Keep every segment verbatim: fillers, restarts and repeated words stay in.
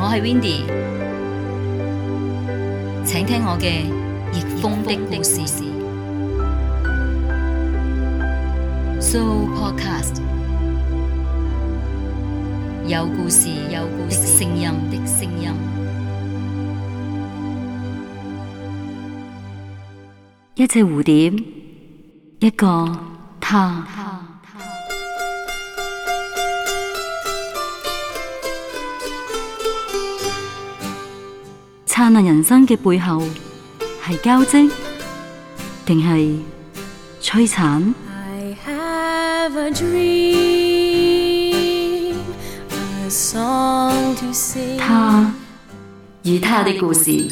我係 Windy， 請聽我嘅逆風的故事。So Podcast 有故事，有故事的聲音的聲音。 一隻蝴蝶，一個他。燦爛人生嘅背後，係交織，定係摧殘？I have a dream, a song to sing. 他與他的故事。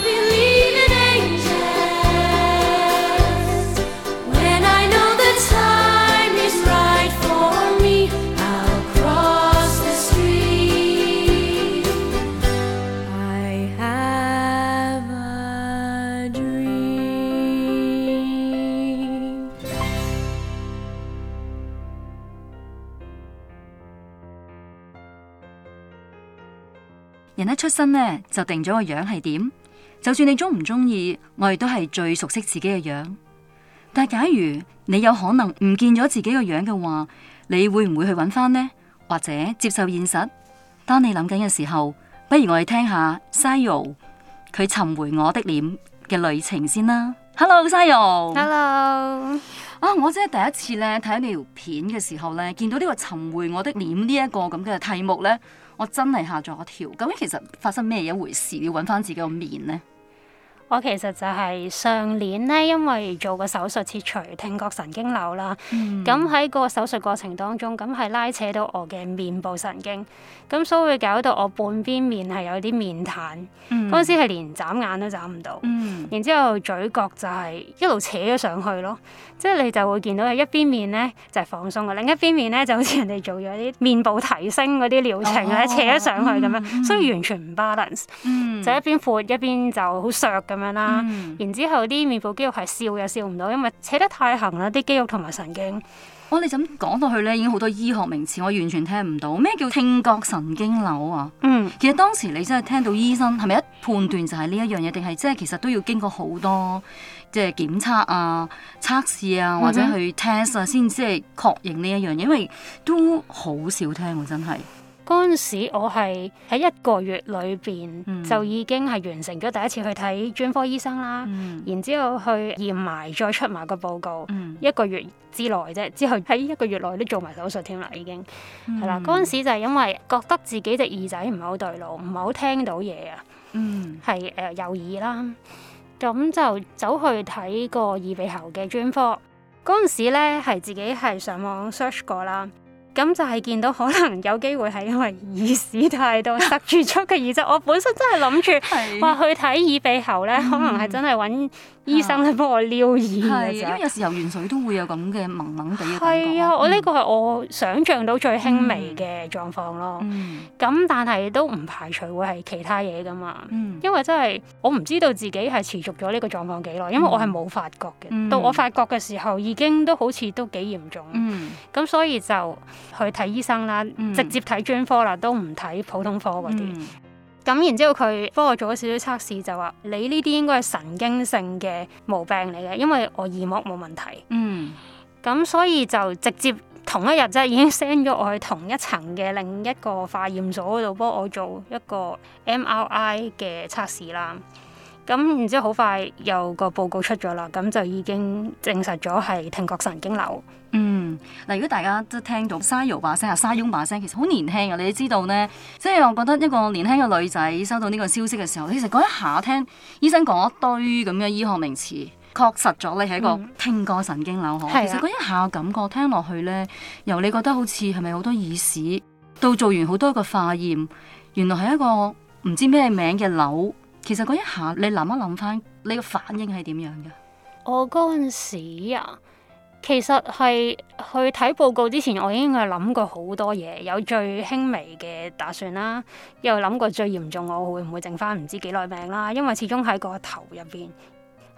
人一出生呢，就定咗個樣係點，就算你中唔中意，我哋都係最熟悉自己嘅樣。但係假如你有可能唔見咗自己個樣嘅話，你會唔會去揾翻呢？或者接受現實？當你諗緊嘅時候，不如我哋聽下 Sayo 佢尋回我的臉嘅旅程先啦。Hello Sayo。 Hello。 啊！我真係第一次咧睇呢條片嘅時候咧，見到呢個尋回我的臉呢一個咁嘅題目咧，我真係嚇咗一跳。究竟其實發生咩一回事？要揾翻自己個面呢？ 我其實就係上年咧，因為做個手術切除聽覺神經瘤啦。咁喺、嗯、個手術過程當中，咁係拉扯到我嘅面部神經，咁所以會搞到我半邊面係有啲面癱。嗰陣、嗯、時係連眨眼都眨唔到。嗯、然之後嘴角就係一路扯咗上去咯，即係你就會見到有一邊面咧就係放鬆嘅，另一邊面咧就好似人哋做咗啲面部提升嗰啲療程咧，哦、扯咗上去咁樣，嗯、所以完全唔 balance。嗯、就一邊闊一邊就好削咁樣啦。嗯、然之後啲面部肌肉係笑又笑唔到，因為扯得太行啦，啲肌肉同埋神經。 我哋咁講到去咧，已經好多醫學名詞，我完全聽唔到。咩叫聽覺神經瘤啊？嗯，其實當時你真係聽到醫生係咪一判斷就係呢一樣嘢，定係即係其實都要經過好多即係檢測啊、測試啊，或者去 test 啊，先即係確認呢一樣嘢，因為都好少聽喎，真係。 嗰陣時我係喺一個月裏邊、嗯、就已經係完成咗第一次去睇專科醫生啦，嗯、然之後去驗埋再出埋個報告，嗯、一個月之內啫，之後喺一個月內都做埋手術添啦，已經係啦。嗰陣、嗯、時就係因為覺得自己隻耳仔唔係好對路，唔係好聽到嘢啊，係誒、嗯呃、右耳啦，咁就走去睇個耳鼻喉嘅專科。嗰陣時咧係自己係上網 search 過啦。咁就係見到可能有機會係因為耳屎太多塞住咗嘅耳仔，我本身真係諗住話去睇耳鼻喉咧，嗯、可能係真係揾醫生咧幫我撩耳嘅， 因為有時候游完水都會有咁嘅蒙蒙地嘅感覺。 係啊，我呢個係我想像到最輕微嘅狀況咯。咁、嗯、但係都唔排除會係其他嘢噶嘛。嗯、因為真係我唔知道自己係持續咗呢個狀況幾耐，因為我係冇發覺嘅。嗯、到我發覺嘅時候已經都好似都幾嚴重。咁、嗯、所以就去睇醫生啦，嗯、直接睇專科啦，都唔睇普通科嗰啲。咁、嗯、然之後佢幫我做咗少少測試，就話你呢啲應該係神經性嘅毛病嚟嘅，因為我耳膜冇問題。嗯，咁所以就直接同一日啫，已經 send 咗我去同一層嘅另一個化驗所嗰度幫我做一個 M R I 嘅測試啦。咁然之後好快有個報告出咗啦，咁就已經證實咗係聽覺神經瘤。 嗯，嗱，如果大家都聽到 Sayo 把聲啊、沙翁把聲，其實好年輕啊，你知道呢，即係我覺得一個年輕嘅女仔收到呢個消息嘅時候，其實嗰一下聽醫生講一堆咁嘅醫學名詞，確實咗你係一個聽覺神經瘤。嗯、其實嗰一下感覺聽落去呢，由你覺得好似係咪好多耳屎，到做完好多個化驗，原來係一個唔知咩名嘅瘤。其實嗰一下你諗一諗翻，你個反應係點樣嘅？ 我嗰陣時啊，其實係去睇報告之前，我已經係諗過好多嘢，有最輕微嘅打算啦，又諗過最嚴重我會唔會剩翻唔知幾耐命啦，因為始終喺個頭入邊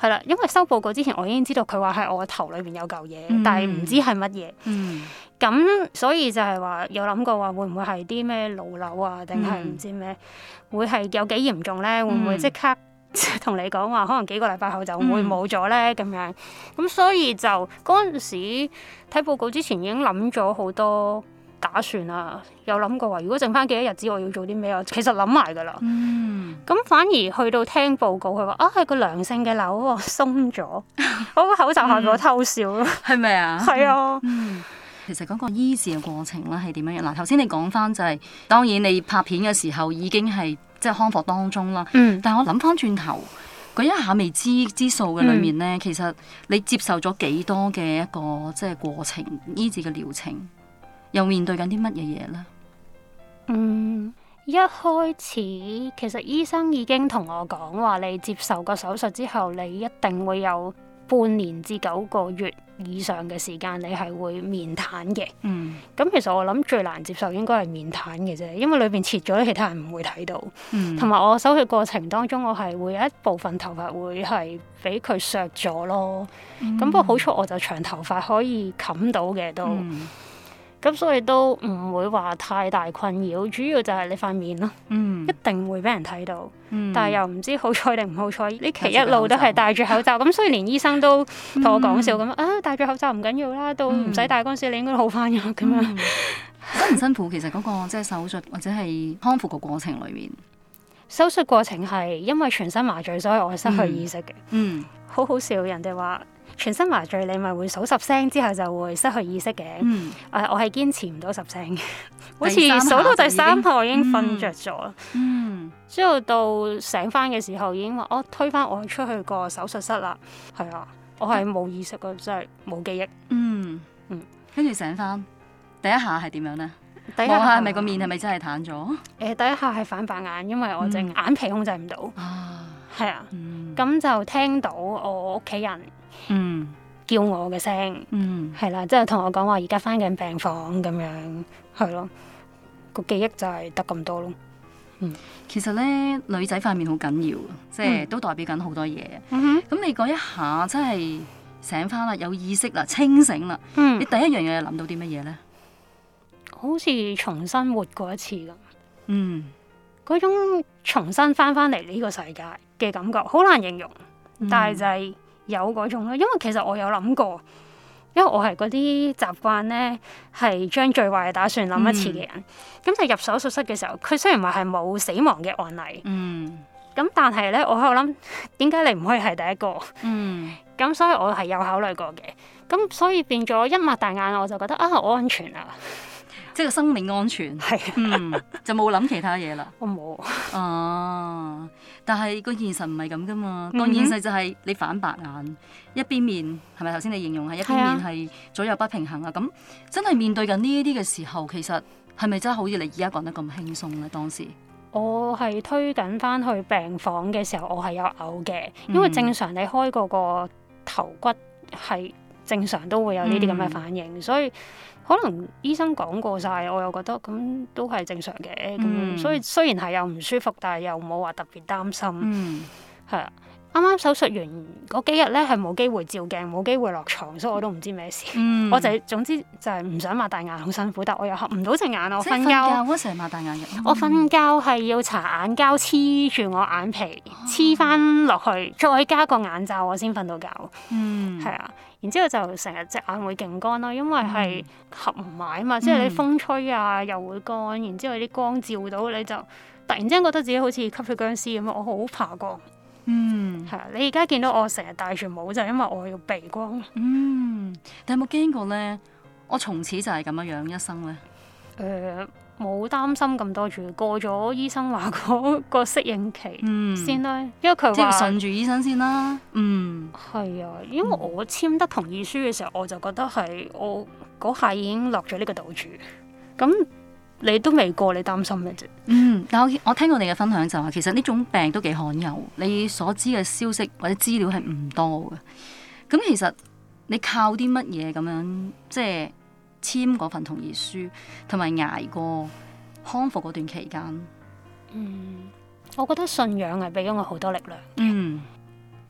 係啦，因為收報告之前我已經知道佢話係我頭裏邊有嚿嘢，嗯、但係唔知係乜嘢。咁、嗯、所以就係話有諗過話會唔會係啲咩腦瘤啊，定係唔知咩？嗯、會係有幾嚴重咧？會唔會即刻同你講話可能幾個禮拜後就會冇咗咧？咁、嗯、樣咁所以就嗰陣時睇報告之前已經諗咗好多打算啊，有諗過話如果剩翻幾多日子我要做啲咩啊？其實諗埋噶啦。咁、嗯、反而去到聽報告，佢話啊係個良性嘅瘤喎，鬆咗，我個口罩下俾我偷笑咯，係咪啊？係啊。嗯， 其實嗰個醫治嘅過程咧係點樣樣？嗱，頭先你講翻就係、是，當然你拍片嘅時候已經係即係康復當中啦。嗯、但係我諗翻轉頭，嗰一下未知之數嘅裏面咧，嗯、其實你接受咗幾多嘅一個即係過程醫治嘅療程？又面對緊啲乜嘢嘢咧？ 嗯，一開始其實醫生已經同我講話，你接受個手術之後，你一定會有半年至九個月以上嘅時間，你係會面癱嘅。嗯，咁其實我諗最難接受應該係面癱嘅啫，因為裏邊切咗，其他人唔會睇到。嗯，同埋我手術過程當中，我係會有一部分頭髮會係俾佢削咗咯。咁、嗯、不過好彩我就長頭髮可以冚到嘅都。嗯，咁所以都唔會話太大困擾，主要就係你塊面咯，嗯、一定會俾人睇到，嗯、但係又唔知好彩定唔好彩，呢期一路都係戴住口罩，咁所以連醫生都同我講笑咁、嗯、啊，戴住口罩唔緊要啦，到唔使戴嗰陣時你應該好翻嘅咁樣。 辛唔辛苦？其實嗰個即係手術或者係康復個過程裏面， 手術過程係因為全身麻醉，所以我係失去意識嘅。嗯，嗯好好笑，人哋話。全身麻醉你咪會數十聲之後就會失去意識嘅，誒、嗯呃、我係堅持唔到十聲嘅，好似數到第三下我已經瞓着咗，嗯，之後到醒翻嘅時候已經話我推翻我出去個手術室啦，係啊，我係冇意識嘅，真係冇記憶，嗯嗯， 跟住醒翻第一下係點樣咧？第一下係咪個面係咪真係癱咗？誒、 呃，第一下係反白眼，因為我隻眼皮控制唔到，啊，係啊，咁、嗯、就聽到我屋企人。嗯，叫我嘅聲，嗯，係啦，即係同我講話而家翻緊病房咁樣，係咯，個記憶就係得咁多咯。嗯， 其實咧女仔塊面好緊要，即係都代表緊好多嘢。嗯哼，咁你嗰一下真係醒翻啦，有意識啦，清醒啦。嗯，你第一樣嘢諗到啲乜嘢咧？ 好似重新活過一次咁。嗯，嗰種重新翻翻嚟呢個世界嘅感覺，好難形容，嗯、但係就係、是。有嗰種咯，因為其實我有諗過，因為我係嗰啲習慣咧，係將最壞嘅打算諗一次嘅人。咁、嗯、就入手術室嘅時候，佢雖然話係冇死亡嘅案例，嗯，咁但係咧，我喺度諗，點解你唔可以係第一個？嗯，咁所以我係有考慮過嘅。咁所以變咗一擘大眼，我就覺得啊，我安全啊！ 即係個生命安全，係是、啊嗯，就冇諗其他嘢啦。 我冇啊，但係個現實唔係咁噶嘛。個、嗯、哼現實就係你反白眼，一邊面係咪頭先你形容係一邊面係左右不平衡啊？咁真係面對緊呢一啲嘅時候，其實係咪真係好似你而家講得咁輕鬆咧？當時我係推緊翻去病房嘅時候，我係有嘔嘅，因為正常你開嗰個頭骨係正常都會有呢啲咁嘅反應，嗯、所以。可能醫生講過晒，我又覺得咁都係正常嘅，咁、嗯、所以雖然係有唔舒服，但係又冇話特別擔心，係啊、嗯。啱啱手術完嗰幾日咧，係冇機會照鏡，冇機會落床，所以我都唔知咩事。嗯、我就係、總之就係唔想擘大眼，好辛苦，但我又合唔到隻眼。我瞓覺嗰時係擘大眼嘅。 我瞓覺係要搽眼膠黐住我眼皮，黐翻落去，再加個眼罩，我先瞓到覺。嗯，係啊。然之後就成日隻眼會勁乾咯，因為係合唔埋啊嘛，嗯、即係你風吹啊又會乾，然之後啲光照到你就突然之間覺得自己好似吸血僵屍咁啊！我好怕光。嗯，係啊！你而家見到我成日戴住帽就係因為我要避光。嗯， 你有冇驚過咧？我從此就係咁樣樣一生咧？ 誒、呃，冇擔心咁多住，過咗醫生話嗰個適應期先啦。嗯、因為佢話即係順住醫生先啦。嗯， 係啊，因為我簽得同意書嘅時候，我就覺得係我嗰下已經落咗呢個賭注。咁你都未過，你擔心咩啫？ 嗯，但我我聽過你嘅分享就話，其實呢種病都幾罕有，你所知嘅消息或者資料係唔多嘅。咁其實你靠啲乜嘢咁樣，即係簽嗰份同意書，同埋捱過康復嗰段期間？ 嗯，我覺得信仰係俾咗我好多力量。 嗯，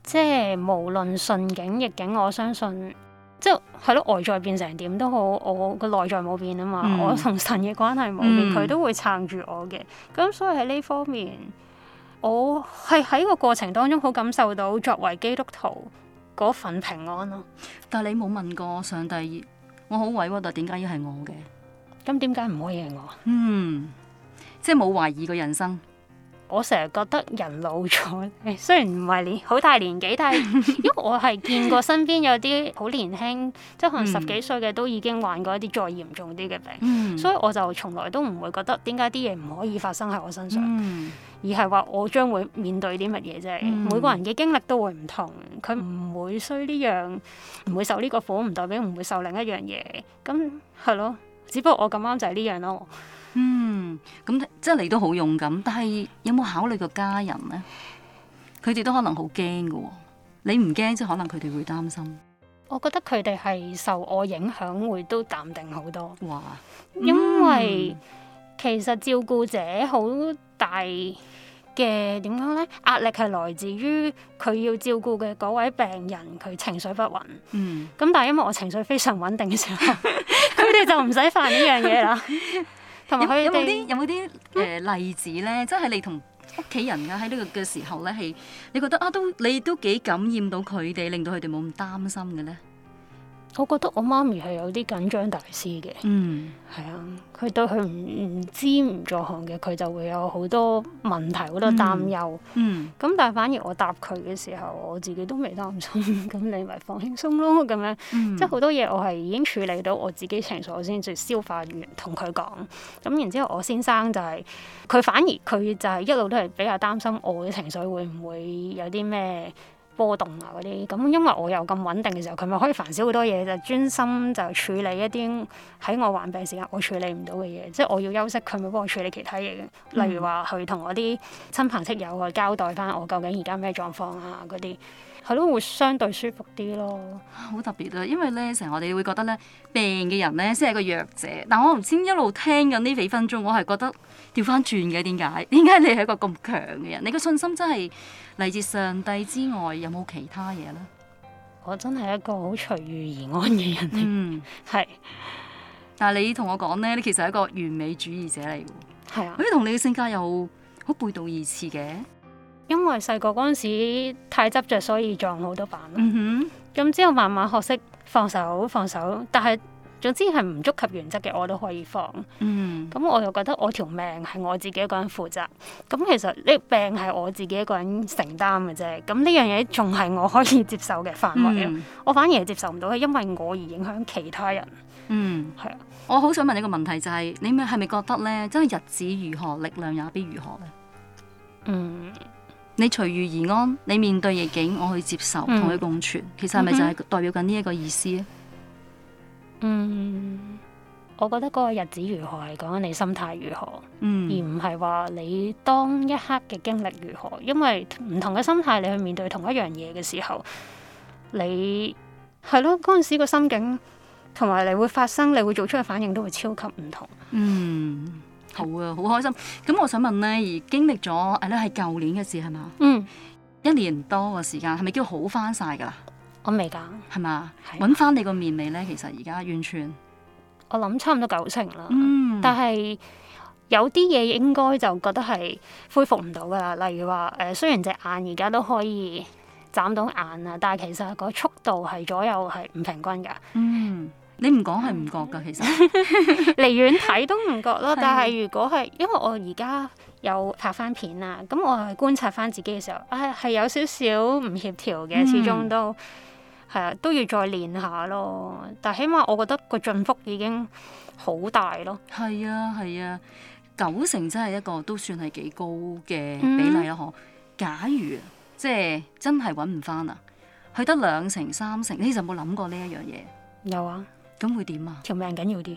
即係無論順境逆境，我相信即係係咯，外在變成點都好，我個內在冇變啊嘛，嗯、我同神嘅關係冇變，佢、嗯、都會撐住我嘅。咁所以喺呢方面，我係喺個過程當中好感受到作為基督徒嗰份平安咯。 但係你冇問過上帝，我好委屈，但點解要係我嘅？ 咁點解唔可以係我？ 嗯，即係冇懷疑過人生。 我成日覺得人老咗，雖然唔係年好大年紀，但係因為我係見過身邊有啲好年輕，即係可能十幾歲嘅都已經患過一啲再嚴重啲嘅病，嗯、所以我就從來都唔會覺得點解啲嘢唔可以發生喺我身上，嗯、而係話我將會面對啲乜嘢啫。嗯、每個人嘅經歷都會唔同，佢唔會衰呢樣，唔會受呢個苦，唔代表唔會受另一樣嘢。咁係咯，只不過我咁啱就係呢樣咯。 嗯，咁即係你都好勇敢，但係有冇考慮過家人咧？佢哋都可能好驚噶，你唔驚，即係可能佢哋會擔心。 我覺得佢哋係受我影響，會都淡定好多。 哇！ 嗯、因為其實照顧者好大嘅點講咧，壓力係來自於佢要照顧嘅嗰位病人，佢情緒不穩。嗯。咁但係因為我情緒非常穩定嘅時候，佢哋就唔使煩呢樣嘢啦。有冇啲有冇啲誒例子咧？即係你同屋企人啊喺呢個嘅時候咧，係你覺得啊都你都幾感染到佢哋，令到佢哋冇咁擔心嘅咧？ 我覺得我媽咪係有啲緊張大師嘅，嗯，係啊，佢對佢唔唔知唔在行嘅，佢就會有好多問題，好多擔憂，嗯，咁、嗯、但係反而我答佢嘅時候，我自己都未擔心，咁你咪放輕鬆咯，咁樣，嗯、即係好多嘢我係已經處理到我自己情緒，我先至消化完同佢講，咁然之後我先生就係、是、佢反而佢就係一路都係比較擔心我嘅情緒會唔會有啲咩波動啊嗰啲，咁因為我又咁穩定嘅時候，佢咪可以煩少好多嘢，就專心就處理一啲喺我患病時間我處理唔到嘅嘢，即係我要休息，佢咪幫我處理其他嘢嘅，嗯、例如話去同我啲親朋戚友去交代翻我究竟而家咩狀況啊嗰啲，係咯，會相對舒服啲咯。 好特別啊，因為咧成日我哋會覺得咧病嘅人咧先係個弱者，但我唔知一路聽緊呢幾分鐘，我係覺得調翻轉嘅，點解？點解你係一個咁強嘅人？你個信心真係嚟自上帝之外，有冇其他嘢咧？ 我真係一個好隨遇而安嘅人嚟，嗯，係。 但係你同我講咧，你其實係一個完美主義者嚟嘅， 係啊， 好似同你嘅性格又好背道而馳嘅。 因為細個嗰陣時太執着，所以撞好多板。嗯哼， 咁之後慢慢學識放手放手，但係總之係唔觸及原則嘅，我都可以放。嗯，咁我又覺得我條命係我自己一個人負責。咁其實呢病係我自己一個人承擔嘅啫。咁呢樣嘢仲係我可以接受嘅範圍。嗯、我反而係接受唔到，係因為我而影響其他人。嗯，係啊。 我好想問一個問題，就係、是、你咪係咪覺得咧，真係日子如何，力量也必如何咧？嗯。你隨遇而安，你面對逆境，我去接受，同佢共存，其實係咪就係代表緊呢一個意思咧？ 嗯，我覺得嗰個日子如何係講緊你心態如何，嗯、而唔係話你當一刻嘅經歷如何。因為唔同嘅心態，你去面對同一樣嘢嘅時候，你係咯嗰陣時個心境同埋你會發生，你會做出嘅反應都會超級唔同。嗯。好啊，好開心。咁我想問咧，而經歷咗誒咧係舊年嘅事係嘛？嗯，一年多嘅時間，係咪叫好翻晒噶啦？我未㗎，係嘛？揾翻你個面未咧？其實而家完全，我諗差唔多九成啦。嗯，但係有啲嘢應該就覺得係恢復唔到噶啦。例如話誒、呃，雖然隻眼而家都可以眨到眼啊，但係其實個速度係左右係唔平均㗎。嗯。你唔講係唔覺噶，其實離遠睇都唔覺咯。但係如果係，因為我而家有拍翻片啊，咁我係觀察翻自己嘅時候，啊係有少少唔協調嘅，始終都係啊，都要再練下咯。但係起碼我覺得個進幅已經好大咯。係啊係啊，九成真係一個都算係幾高嘅比例啦。嗬、嗯，假如即係真係揾唔翻啊，去得兩成三成，你就冇諗過呢一樣嘢？有啊。咁會點啊？條命緊要啲，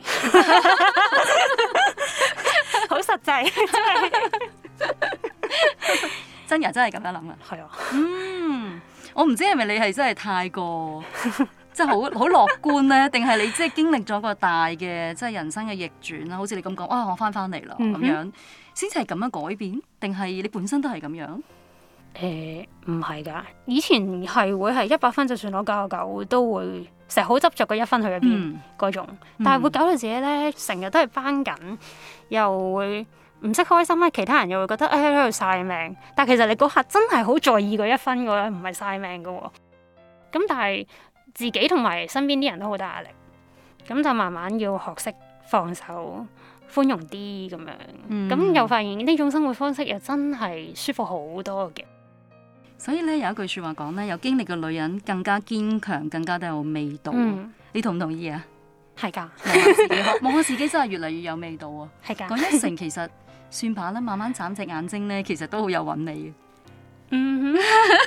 好實際，真係真人真係咁樣諗啊！係啊，嗯，我唔知係咪你係真係太過即係好好樂觀咧，定係你即係經歷咗個大嘅即係人生嘅逆轉啦？好似你咁講，啊，我翻翻嚟啦咁樣，先至係咁樣改變，定係你本身都係咁樣？ 誒唔係㗎，以前係會係一百分就算攞九十九都會成日好執着個一分去咗邊嗰種，但係會搞到自己咧成日都係扳緊，又會唔識開心咧。其他人又會覺得誒喺度晒命，但係其實你嗰刻真係好在意嗰一分嘅，唔係晒命嘅喎。咁但係自己同埋身邊啲人都好大壓力，咁就慢慢要學識放手。寬容啲咁樣，咁、嗯、又發現呢種生活方式又真係舒服好多嘅。 所以咧有一句說話講咧，有經歷嘅女人更加堅強，更加都有味道。嗯、你同唔同意啊？ 係噶的，望下自己，望下自己真係越嚟越有味道啊！ 係噶的， 講一成其實算罷啦，慢慢眨隻眼睛咧，其實都好有韻味嘅。 嗯哼。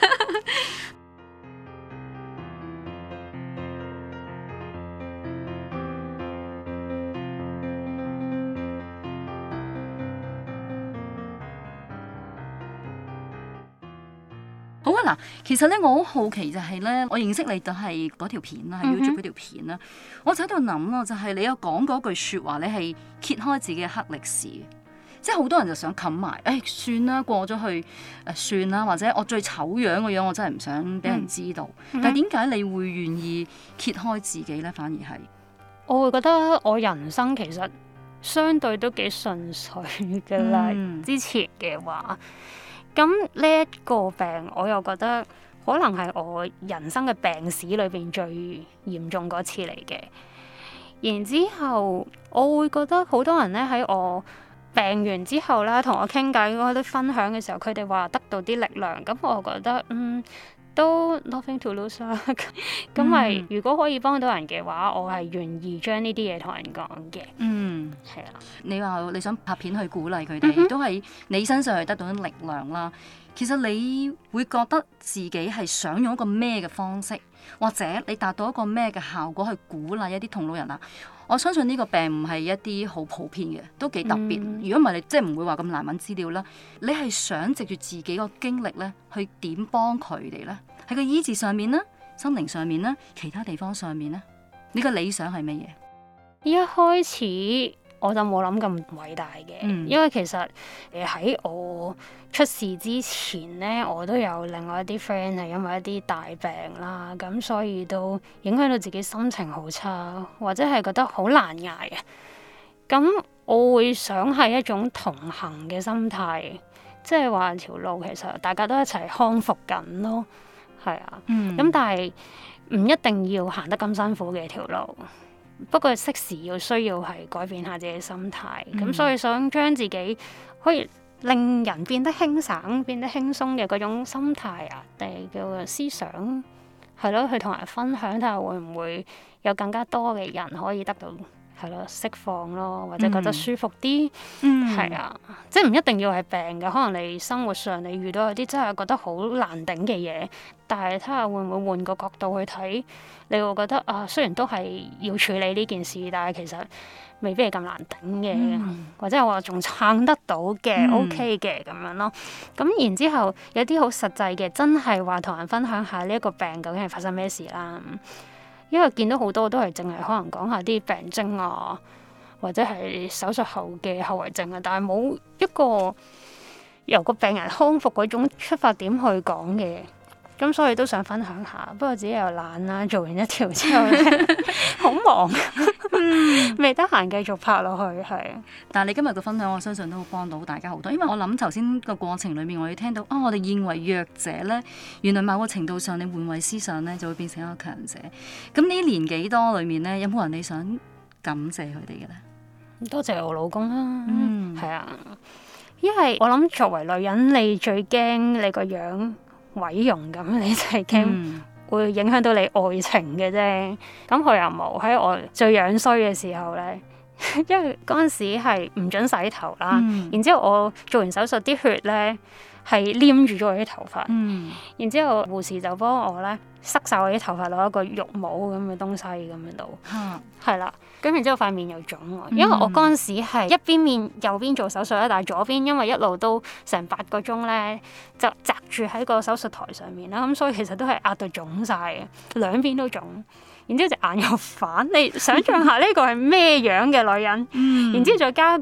好啊，嗱，其實咧，我好好奇就係咧，我認識你就係嗰條片啦，係 YouTube 嗰條片啦，我就喺度諗咯，就係、是、你有講嗰句說話，你係揭開自己嘅黑歷史，即係好多人就想冚埋，誒、哎，算啦，過咗去，誒、呃，算啦，或者我最醜樣嘅樣，我真係唔想俾人知道。嗯、但係點解你會願意揭開自己咧？反而係， 我會覺得我人生其實相對都幾順遂嘅啦，嗯、之前嘅話。咁呢一個病，我又覺得可能係我人生嘅病史裏邊最嚴重嗰次嚟嘅。然之後，我會覺得好多人咧喺我病完之後啦，同我傾偈嗰啲分享嘅時候，佢哋話得到啲力量。咁我覺得嗯都 nothing to lose 啦。咁咪如果可以幫到人嘅話，我係願意將呢啲嘢同人講嘅。嗯，係啊。 你話你想拍片去鼓勵佢哋，嗯、哼都係你身上係得到啲力量啦。其實你會覺得自己係想用一個咩嘅方式，或者你達到一個咩嘅效果去鼓勵一啲同路人啊？我相信呢個病唔係一啲好普遍嘅，都幾特別。如果唔係你即係唔會話咁難揾資料啦。你係想藉住自己個經歷咧，去點幫佢哋咧？喺個醫治上面啦，心靈上面啦，其他地方上面咧，你個理想係乜嘢？ 一開始我就冇諗咁偉大嘅，嗯、因為其實誒喺我出事之前咧，我都有另外一啲 friend 係因為一啲大病啦，咁所以都影響到自己心情好差，或者係覺得好難捱啊。咁我會想係一種同行嘅心態，即係話條路其實大家都一齊康復緊咯。係啊，咁、嗯、但係唔一定要行得咁辛苦嘅條路，不過適時要需要係改變下自己嘅心態，咁、嗯、所以想將自己可以令人變得輕省、變得輕鬆嘅嗰種心態啊，定係叫做思想，係咯，去同人分享睇下會唔會有更加多嘅人可以得到。係咯，釋放咯，或者覺得舒服啲，係、嗯、啊，即係唔一定要係病嘅，可能你生活上你遇到有啲真係覺得好難頂嘅嘢，但係睇下會唔會換個角度去睇，你會覺得啊，雖然都係要處理呢件事，但係其實未必係咁難頂嘅，嗯、或者係話仲撐得到嘅、嗯、OK 嘅咁樣咯。咁然之後有啲好實際嘅，真係話同人分享下呢一個病究竟係發生咩事啦。因為見到好多都係淨係可能講下啲病徵啊，或者係手術後嘅後遺症啊，但係冇一個由個病人康復嗰種出發點去講嘅，咁所以都想分享下。不過自己又懶啦，做完一條之後好忙，未得閒繼續拍落去。係，但係你今日嘅分享，我相信都幫到大家好多。因為我諗頭先個過程裏面，我哋聽到啊、哦，我哋認為弱者咧，原來某個程度上，你換位思想咧，就會變成一個強者。咁呢年幾多裏面咧，有冇人你想感謝佢哋嘅咧？ 多謝我老公啦，嗯，係啊，因為我諗作為女人，你最驚你個樣毀容咁，你就係驚會影響到你愛情嘅啫。咁佢又冇喺我最樣衰嘅時候咧，因為嗰陣時係唔准洗頭啦，嗯、然之後我做完手術啲血咧係黏住咗我啲頭髮，嗯、然之後護士就幫我咧塞晒我啲頭髮落一個浴帽咁嘅東西咁樣度，係啦、嗯。咁然之後塊面又腫，因為我嗰陣時係一邊面右邊做手術咧，但係左邊因為一路都成八個鐘咧，就擲住喺個手術台上面啦，咁所以其實都係壓到腫晒嘅，兩邊都腫。然之後隻眼又反，你想象下呢個係咩樣嘅女人？嗯、然之後再加個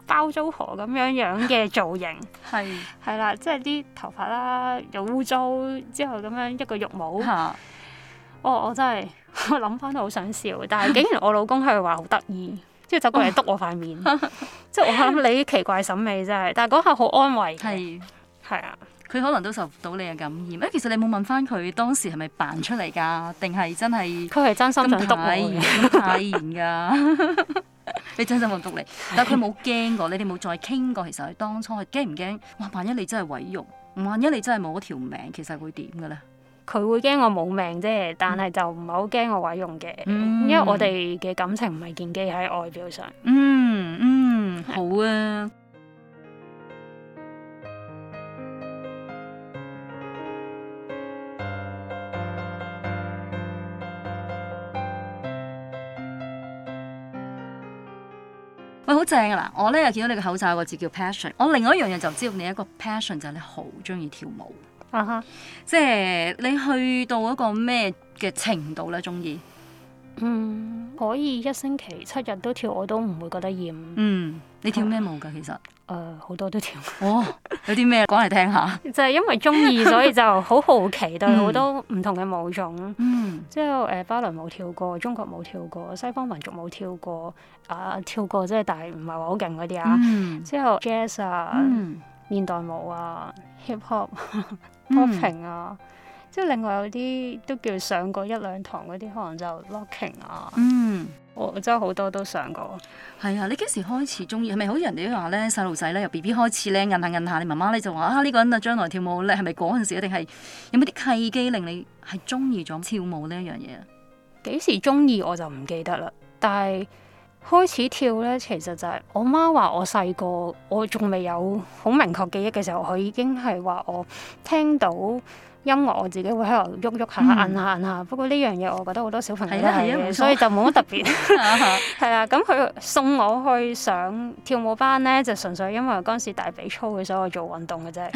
包租婆咁樣樣嘅造型， 係係啦，即係啲頭髮啦又污糟，之後咁樣一個浴帽， 嚇我我真係我諗翻都好想笑，但係竟然我老公係話好得意，之後走過嚟督我塊面，即係我諗你奇怪審美真係，但係嗰下好安慰嘅， 係係啊。 佢可能都受到你嘅感染。誒，其實你冇問翻佢當時係咪扮出嚟㗎，定係真係佢係真心想督我嘅， 咁太嚴㗎。你真心想督你，但係佢冇驚過，你哋冇再傾過。其實佢當初係驚唔驚？哇！萬一你真係毀容，萬一你真係冇咗條命，其實會點㗎咧？ 佢會驚我冇命啫，但係就唔係好驚我毀容嘅， 嗯、 因為我哋嘅感情唔係建基喺外表上。 嗯嗯，好啊。喂，好正啊！嗱，我咧又見到你個口罩有個字叫 passion， 我另外一樣嘢就知道你一個 passion 就係你好中意跳舞， 啊哈、uh，huh. 即係你去到一個咩嘅程度咧？中意？ 嗯，可以一星期七日都跳，我都唔會覺得厭。 嗯，你跳咩舞㗎？其實？誒、 呃，好多都跳。 哦，有啲咩講嚟聽下？ 就係因為中意，所以就好好奇對好多唔同嘅舞種。嗯，之後誒芭蕾舞跳過，中國舞跳過，西方民族舞跳過，啊跳過即係但係唔係話好勁嗰啲啊。嗯、之後 jazz 啊，嗯、現代舞啊 ，hip hop、popping 啊。即係另外有啲都叫上過一兩堂嗰啲，可能就 locking 啊。嗯，我真係好多都上過。係啊，你幾時開始中意？係咪好似人哋都話咧，細路仔咧由 B B 開始咧，摁下摁下，你媽媽咧就話啊呢、呢個人啊將來跳舞叻，係咪嗰陣時？定係有冇啲契機令你係中意咗跳舞呢一樣嘢啊？ 幾時中意我就唔記得啦。但係開始跳咧，其實就係我媽話我細個，我仲未有好明確記憶嘅時候，佢已經係話我聽到音樂我自己會喺度喐喐下、摁下摁下，不過呢樣嘢我覺得好多小朋友都係嘅，所以就冇乜特別。係啦，咁佢送我去上跳舞班咧，就純粹因為嗰陣時大髀粗嘅，所以我做運動嘅啫，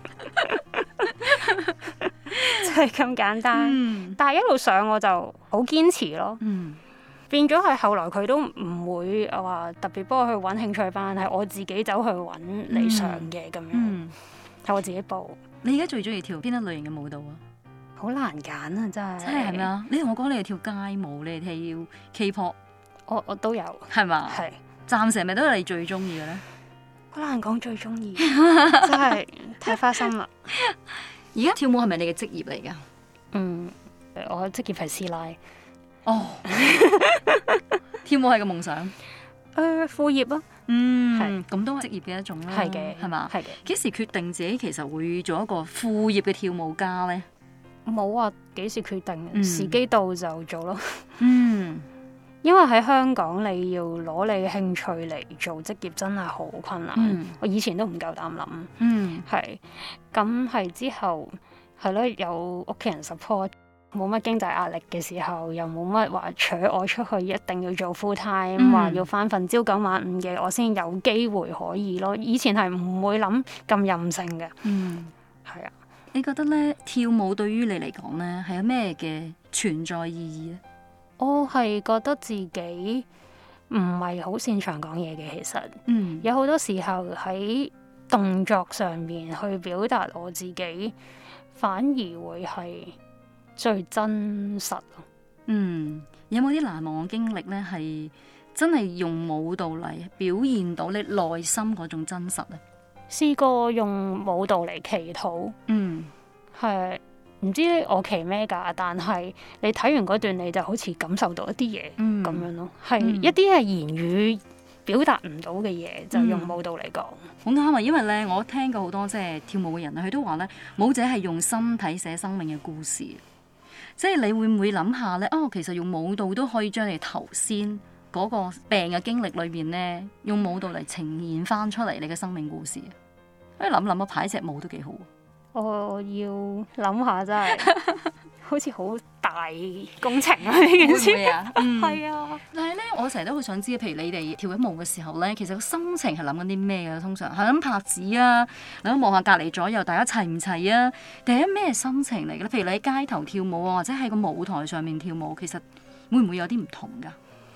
就係咁簡單。嗯、但係一路上我就好堅持咯，嗯、變咗係後來佢都唔會話特別幫我去揾興趣班，係我自己走去揾嚟上嘅咁、嗯、樣，係我自己報。你而家最中意跳邊一類型嘅舞蹈啊？好難揀啊，真係。真係係咪啊？你同我講你係跳街舞，你係跳 K-pop， 我我都有，係嘛吧？係是。暫時係咪都係你最中意嘅咧？好難講最中意，真係太花心啦。而家跳舞係咪你嘅職業嚟㗎？嗯，我嘅職業係師奶。哦，跳舞係個夢想。誒、呃，副業啊。嗯，係咁都係職業嘅一種啦，係嘅，係嘛？係嘅。幾時決定自己其實會做一個副業嘅跳舞家咧？冇話幾時決定，嗯、時機到就做咯。嗯，因為喺香港你要攞你嘅興趣嚟做職業真係好困難。嗯、我以前都唔夠膽諗。嗯，係。咁係之後係咯，有屋企人 support。冇乜經濟壓力嘅時候，又冇乜話扯我出去，一定要做 full time，話、嗯、要返份朝九晚五嘅，我先有機會可以咯。以前係唔會諗咁任性嘅。嗯，係啊。你覺得咧跳舞對於你嚟講咧係有咩嘅存在意義咧？我係覺得自己唔係好擅長講嘢嘅，其實，嗯，有好多時候喺動作上面去表達我自己，反而會係最真實。嗯，有冇啲難忘嘅經歷咧？係真係用舞蹈嚟表現到你內心嗰種真實咧？試過用舞蹈嚟祈禱。嗯，係唔知我祈咩㗎？但係你睇完嗰段，你就好似感受到一啲嘢咁樣咯。係、嗯、一啲係言語表達唔到嘅嘢，就用舞蹈嚟講。好啱啊！因為咧，我聽過好多即係跳舞嘅人咧，佢都話咧，舞者係用身體寫生命嘅故事。即係你會唔會諗下咧？哦，其實用舞蹈都可以將你頭先嗰個病嘅經歷裏邊咧，用舞蹈嚟呈現翻出嚟你嘅生命故事。誒，諗諗啊，排隻舞都幾好。我要諗下，真係好似好大工程啊！呢件事啊，係啊。但係咧，我成日都好想知，譬如你哋跳緊舞嘅時候咧，其實個心情係諗緊啲咩嘅？通常係諗拍子啊，諗望下隔離左右大家齊唔齊啊？定係咩心情嚟嘅咧？譬如你喺街頭跳舞啊，或者喺個舞台上面跳舞，其實會唔會有啲唔同㗎？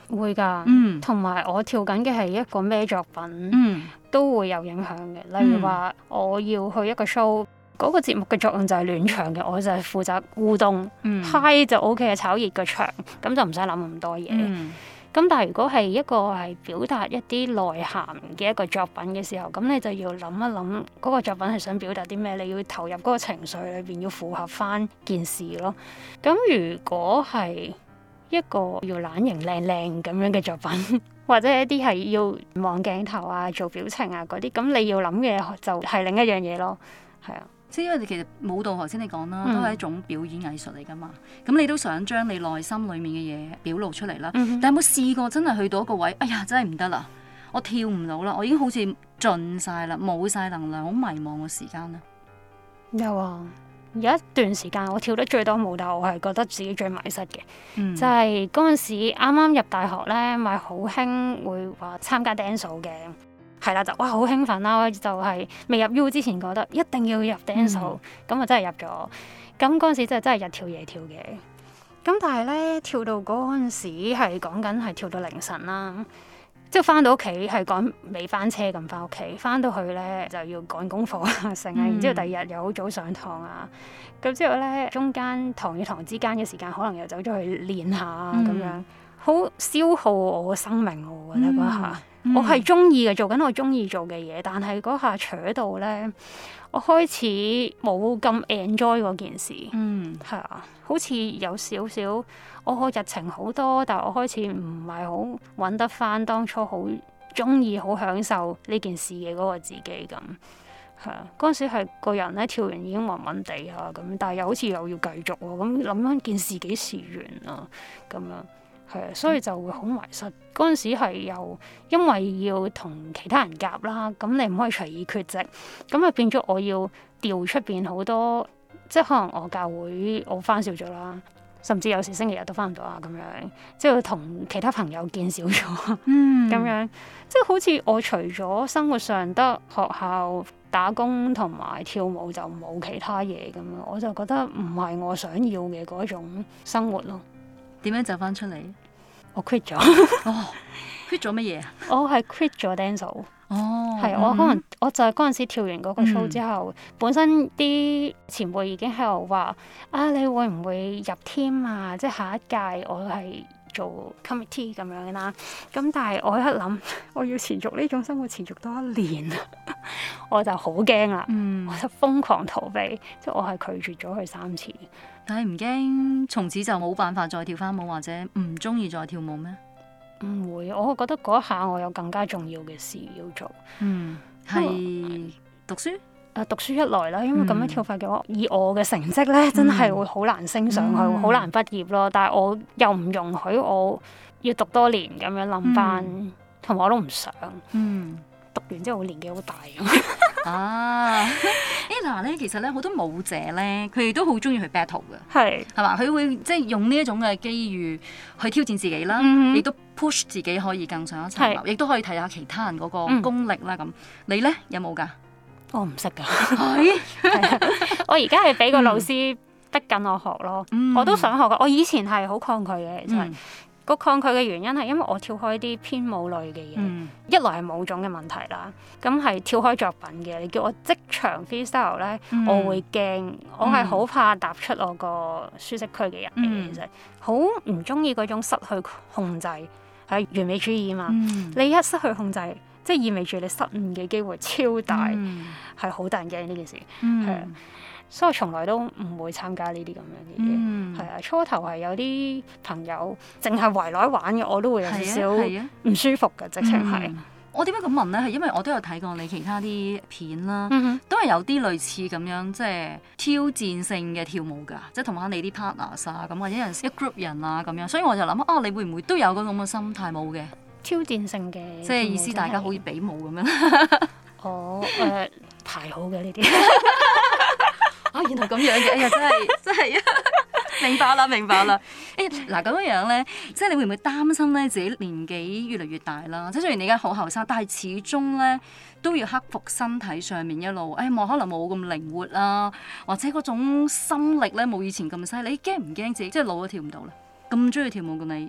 會㗎， 嗯， 同埋我跳緊嘅係一個咩作品， 嗯， 都會有影響嘅。例如話我要去一個 show，嗰個節目嘅作用就係暖場嘅，我就係負責互動， 嗯嗨就 O K 嘅，炒熱個場，咁就唔使諗咁多嘢。 嗯咁但係如果係一個係表達一啲內涵嘅一個作品嘅時候，咁你就要諗一諗嗰個作品係想表達啲咩，你要投入嗰個情緒裏邊，要符合翻件事咯。咁如果係一個要懶型靚靚咁樣嘅作品，或者一啲係要望鏡頭啊、做表情啊嗰啲，咁你要諗嘅就係另一樣嘢咯。係啊。 即係因為你其實舞蹈頭先你講啦， 嗯、 都係一種表演藝術嚟噶嘛。咁你都想將你內心裡面嘅嘢表露出嚟啦。 嗯、 但係有冇試過真係去到一個位，哎呀真係唔得啦，我跳唔到啦，我已經好似盡晒啦，冇晒能量，好迷茫嘅時間咧？ 有啊，有一段時間我跳得最多舞，但我係覺得自己最迷失嘅， 嗯、 就係嗰陣時啱啱入大學咧，咪好興會話參加 dance 嘅。係啦，就哇好興奮啦！就係、是、未入 U 之前覺得一定要入 dance，咁啊、嗯、真係入咗。咁嗰陣時真係真係日跳夜跳嘅。咁但係咧跳到嗰陣時係講緊係跳到凌晨啦，即係翻到屋企係趕尾班車咁翻屋企，翻到去咧就要趕功課啊成啊，然之後第二日又好早上堂啊，咁之後咧中間堂與堂之間嘅時間可能又走咗去練下咁、嗯、樣，好消耗我嘅生命我覺得嗰下。嗯嗯、我係中意嘅，做緊我中意做嘅嘢，但係嗰下扯到咧，我開始冇咁 enjoy 嗰件事。嗯，係啊，好似有少少，我日程好多，但係我開始唔係好揾得翻當初好中意、好享受呢件事嘅嗰個自己咁。係啊，嗰陣時係個人咧跳完已經暈暈地啊咁，但係又好似又要繼續喎，咁諗翻件事幾時完啊咁樣。係啊，所以就會好迷失。嗰陣時係又因為要同其他人夾啦，咁你唔可以隨意缺席，咁啊變咗我要調出邊好多，即係可能我教會我返少咗啦，甚至有時星期日都返唔到啊咁樣，即係同其他朋友見少咗，嗯，咁樣即係好似我除咗生活上得學校打工同埋跳舞就冇其他嘢咁樣，我就覺得唔係我想要嘅嗰種生活咯。 點樣走翻出嚟？ 我 quit 咗。 哦，quit 咗乜嘢啊？ 我係 quit 咗 dance。 哦， 係我可能我就係嗰陣時跳完嗰個 show 之後，嗯、本身啲前輩已經喺度話：啊，你會唔會入 team 啊？即係下一屆我係做 committee 咁樣啦。咁但係我一諗，我要持續呢種生活持續多一年，我就好驚啦。嗯、我就瘋狂逃避，即係我係拒絕咗佢三次。 但係唔驚，從此就冇辦法再跳翻舞，或者唔中意再跳舞咩？ 唔會，我覺得嗰一下我有更加重要嘅事要做。嗯， 係讀書。 誒，讀書一來啦，因為咁樣跳法嘅話，嗯、以我嘅成績咧，真係會好難升上去，好、嗯、難畢業咯。但係我又唔容許我要讀多年咁樣冧班，同埋、嗯、我都唔想。嗯，讀完之後我年紀好大咁。 啊，誒嗱咧，其實咧好多舞者咧，佢哋都好中意去 battle 嘅， 係係嘛？佢會即係用呢一種嘅機遇去挑戰自己啦，亦都 push 自己可以更上一層樓，亦都可以睇下其他人嗰個功力啦。咁你咧有冇㗎？ 我唔識㗎，我而家係俾個老師逼緊我學咯，我都想學㗎。我以前係好抗拒嘅，其實。個抗拒嘅原因係因為我跳開啲偏舞類嘅嘢，嗯、一來係舞種嘅問題啦，咁係跳開作品嘅。你叫我即場 freestyle 咧，嗯、我會驚，我係好怕踏出我個舒適區嘅人嚟嘅，其實好唔中意嗰種失去控制，係完美主義啊嘛。嗯、你一失去控制，即係意味住你失誤嘅機會超大，係好、嗯、大人驚呢件事，係、嗯。所以我從來都唔會參加呢啲咁樣嘅嘢，係啊、嗯。初頭係有啲朋友淨係圍內玩嘅，我都會有少少唔舒服嘅，直情係。 嗯、我點解咁問咧？係因為我都有睇過你其他啲片啦，嗯、哼都係有啲類似咁樣，即係挑戰性嘅跳舞㗎，即係同翻你啲 partners 啊咁，或者有陣時一 group 人啊咁樣。所以我就諗啊，你會唔會都有嗰種咁嘅心態冇嘅？ 挑戰性嘅， 即係意思大家好似比武咁樣。 哦，誒、呃、排好嘅呢啲。 啊，原來咁樣嘅，哎呀，真係真係啊！明白啦，明白啦。誒、欸，嗱咁樣樣咧，即係你會唔會擔心咧自己年紀越嚟越大啦？即係雖然你而家好後生，但係始終咧都要克服身體上面一路，誒、哎，冇可能冇咁靈活啊，或者嗰種心力咧冇以前咁犀利。你驚唔驚自己即係老咗跳唔到咧？咁中意跳舞嘅你？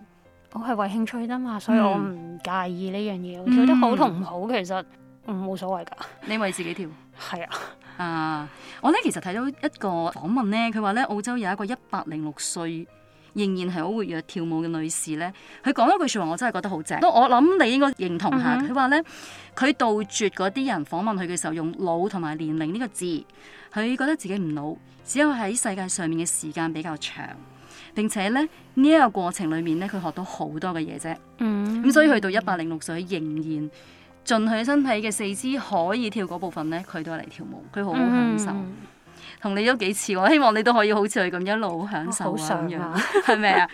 我係為興趣啫嘛，所以我唔介意呢樣嘢。嗯、跳得好同唔好，其實冇所謂㗎。 你為自己跳？ 係啊。 啊！我咧其實睇到一個訪問咧，佢話咧澳洲有一個一百零六歲仍然係好活躍跳舞嘅女士咧，佢講一句説話，我真係覺得好正。我諗你應該認同下。佢話咧，佢杜絕嗰啲人訪問佢嘅時候用老同埋年齡呢個字，佢覺得自己唔老，只有喺世界上面嘅時間比較長。並且咧呢一個過程裡面咧，佢學到好多嘅嘢啫。嗯，咁所以去到一百零六歲，仍然盡佢身體嘅四肢可以跳嗰部分咧，佢都係嚟跳舞，佢好好享受。同、嗯、你都幾似，我希望你都可以好似佢咁一路享受咁樣，係咪啊？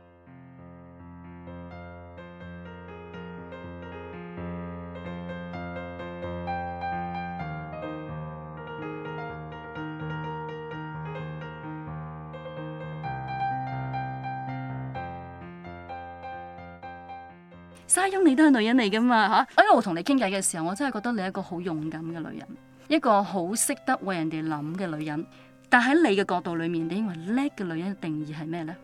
沙翁，你都係女人嚟噶嘛嚇？哎，我同你傾偈嘅時候，我真係覺得你係一個好勇敢嘅女人，一個好識得為人哋諗嘅女人。但喺你嘅角度裏面，你認為叻嘅女人嘅定義係咩呢？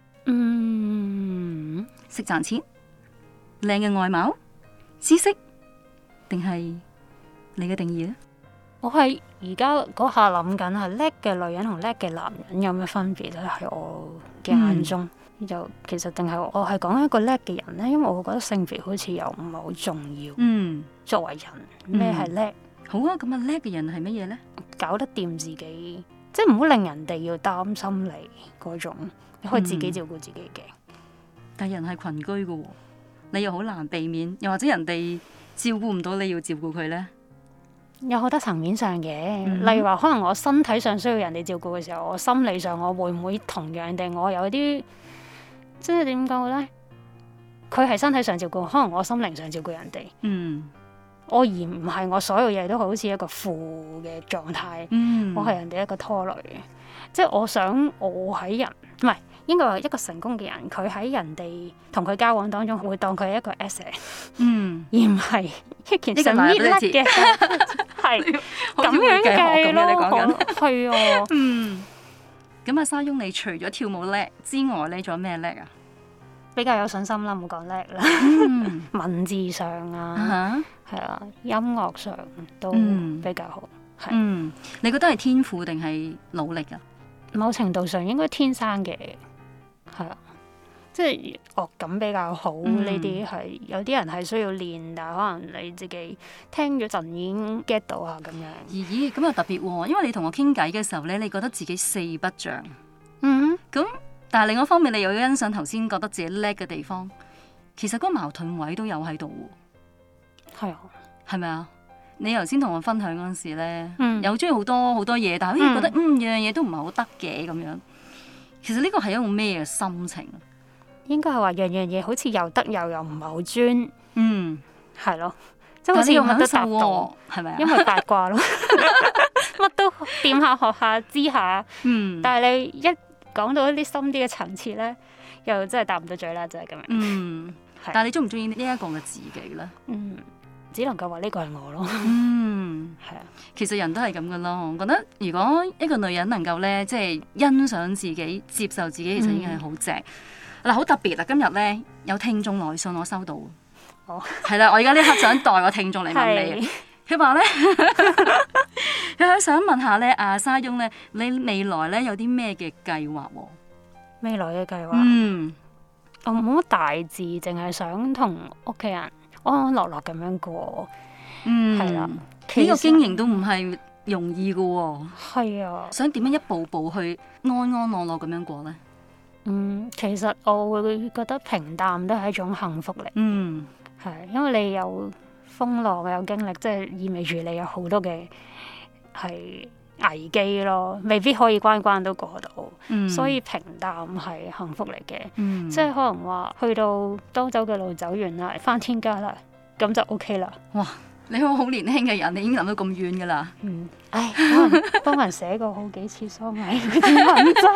嗯，識賺錢、靚嘅外貌、知識，定係你嘅定義呢？ 我係而家嗰下諗緊係叻嘅女人同叻嘅男人有咩分別咧？喺我嘅眼中。嗯就其實定係我係講一個叻嘅人咧，因為我覺得性別好似又唔係好重要。嗯，作為人咩係叻？ 好啊，咁啊叻嘅人係乜嘢咧？ 搞得掂自己，即係唔好令人哋要擔心你嗰種，你可以自己照顧自己嘅。 嗯、但係人係群居噶，你又好難避免，又或者人哋照顧唔到你要照顧佢咧？ 有好多層面上嘅，嗯、例如話可能我身體上需要人哋照顧嘅時候，我心理上我會唔會同樣地我有啲？即係點講咧？佢係身體上照顧，可能我心靈上照顧人哋。嗯，我而唔係我所有嘢都好似一個負嘅狀態。嗯，我係人哋一個拖累嘅。即係我想我喺人唔係應該話一個成功嘅人，佢喺人哋同佢交往當中會當佢係一個 asset。嗯，而唔係一件神搣甩嘅，係咁樣計咯。係啊，嗯。 咁阿沙翁，你除咗跳舞叻之外咧，仲有咩叻啊？ 比較有信心啦，唔好講叻啦。嗯、文字上啊，係、uh huh. 啊，音樂上都比較好。係、嗯， 嗯、你覺得係天賦定係努力啊？ 某程度上應該天生嘅，係啊，即係樂感比較好呢啲係。有啲人係需要練，但係可能你自己聽咗陣已經 get 到啊咁樣。 咦，咁又特別喎，因為你同我傾偈嘅時候咧，你覺得自己四不像。嗯，咁但係另一方面，你又要欣賞頭先覺得自己叻嘅地方，其實嗰個矛盾位都有喺度喎。係啊，係咪啊？你頭先同我分享嗰陣時咧，嗯、又中意好多好多嘢，但係好似覺得嗯樣樣嘢都唔係好得嘅咁樣。其實呢個係一種咩嘅心情？ 應該係話樣樣嘢好似又得又又唔係好專，嗯，係咯，即係好似用乜都達到， 係咪啊？ 因為八卦咯，乜都掂下學下知下，嗯，但係你一講到一啲深啲嘅層次咧，又真係答唔到嘴啦，就係咁樣。嗯， 是但係你中唔中意呢一個嘅自己咧？ 嗯，只能夠話呢個係我咯。 嗯，係啊，其實人都係咁噶咯。我覺得如果一個女人能夠咧，即係欣賞自己、接受自己，其實已經係好正。嗱，好特別啊！今日咧有聽眾來信，我收到。哦，係啦，我而家呢刻想代個聽眾嚟問你。佢話咧，佢係想問下咧，阿沙翁咧，你未來咧有啲咩嘅計劃？ 未來嘅計劃，嗯，我冇乜大志，淨係想同屋企人安安樂樂咁樣過。嗯，係啦， 呢個經營都唔係容易噶喎。係啊，想點樣一步步去安安樂樂咁樣過咧？ 嗯，其實我會覺得平淡都係一種幸福嚟。嗯，係，因為你有風浪有經歷，即係意味住你有好多嘅係危機咯，未必可以關關都過到。嗯，所以平淡係幸福嚟嘅。嗯，即係可能話去到多走嘅路走完啦，返天家啦，咁就 OK 啦。 哇！你好好年輕嘅人，你已經諗到咁遠噶啦。 嗯，唉，可能幫人寫過好幾次喪禮嗰啲文章。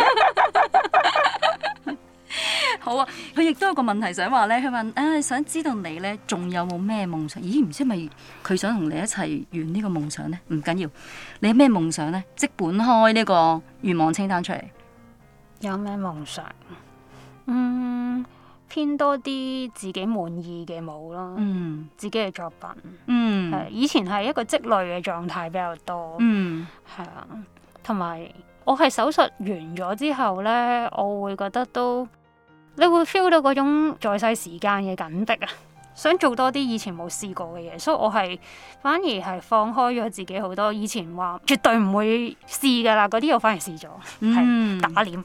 好啊，佢亦都有個問題想話咧，佢問啊，想知道你咧仲有冇咩夢想？咦，唔知係咪佢想同你一齊圓呢個夢想咧？唔緊要，你有咩夢想咧？即本開呢個願望清單出嚟。 有咩夢想？嗯， 偏多啲自己滿意嘅舞咯， 嗯， 自己嘅作品， 嗯， 係以前係一個積累嘅狀態比較多， 嗯， 係啊，同埋我係手術完咗之後咧，我會覺得都你會 feel 到嗰種在世時間嘅緊迫啊，想做多啲以前冇試過嘅嘢，所以我係反而係放開咗自己好多以前話絕對唔會試噶啦，嗰啲我反而試咗，係、嗯、打臉。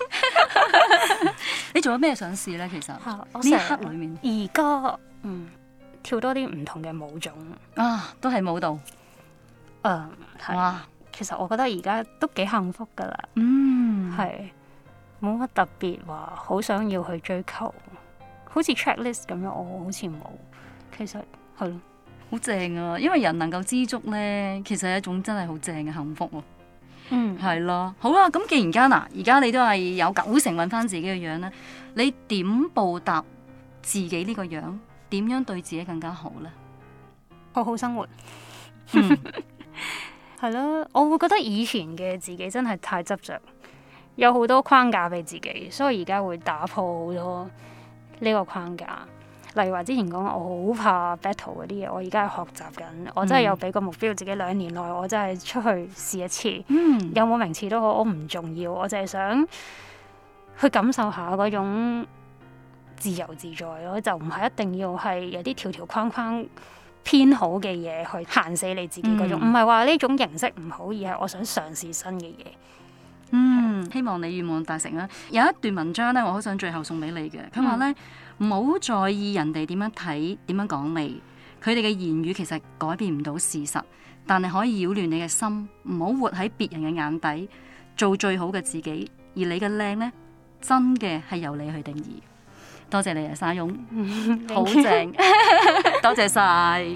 你做咗咩想試咧？其實呢一刻裏面， 而家嗯跳多啲唔同嘅舞種啊，都係舞蹈。誒、 嗯，哇！其實我覺得而家都幾幸福噶啦， 嗯， 係冇乜特別話好想要去追求，好似 checklist 咁樣，我好似冇。其實係咯， 好正啊！因為人能夠知足咧，其實係一種真係好正嘅幸福喎。 嗯， 係咯，好啦，咁既然間嗱，而家你都係有九成揾翻自己嘅樣咧，你點報答自己呢個樣？點樣對自己更加好咧？ 好好生活，係咯、嗯，我會覺得以前嘅自己真係太執着，有好多框架俾自己，所以而家會打破好多呢個框架。例如話之前講我好怕 battle 嗰啲嘢，我而家係學習緊，我真係有俾個目標自己兩年內，我真係出去試一次， 嗯、 有冇名次都好，我唔重要，我就係想去感受下嗰種自由自在咯，就唔係一定要係有啲條條框框偏好嘅嘢去限死你自己嗰種，唔係話呢種形式唔好，而係我想嘗試新嘅嘢。 嗯，希望你願望達成啦。有一段文章咧，我好想最後送俾你嘅。佢話咧，唔好在意人哋點樣睇、點樣講你，佢哋嘅言語其實改變唔到事實，但係可以擾亂你嘅心。唔好活喺別人嘅眼底，做最好嘅自己。而你嘅靚咧，真嘅係由你去定義。多謝你啊，沙翁，好正，多謝晒。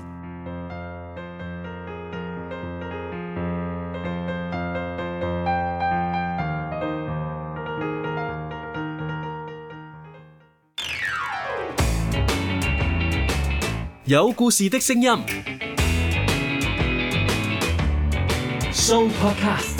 有故事的聲音 Show Podcast。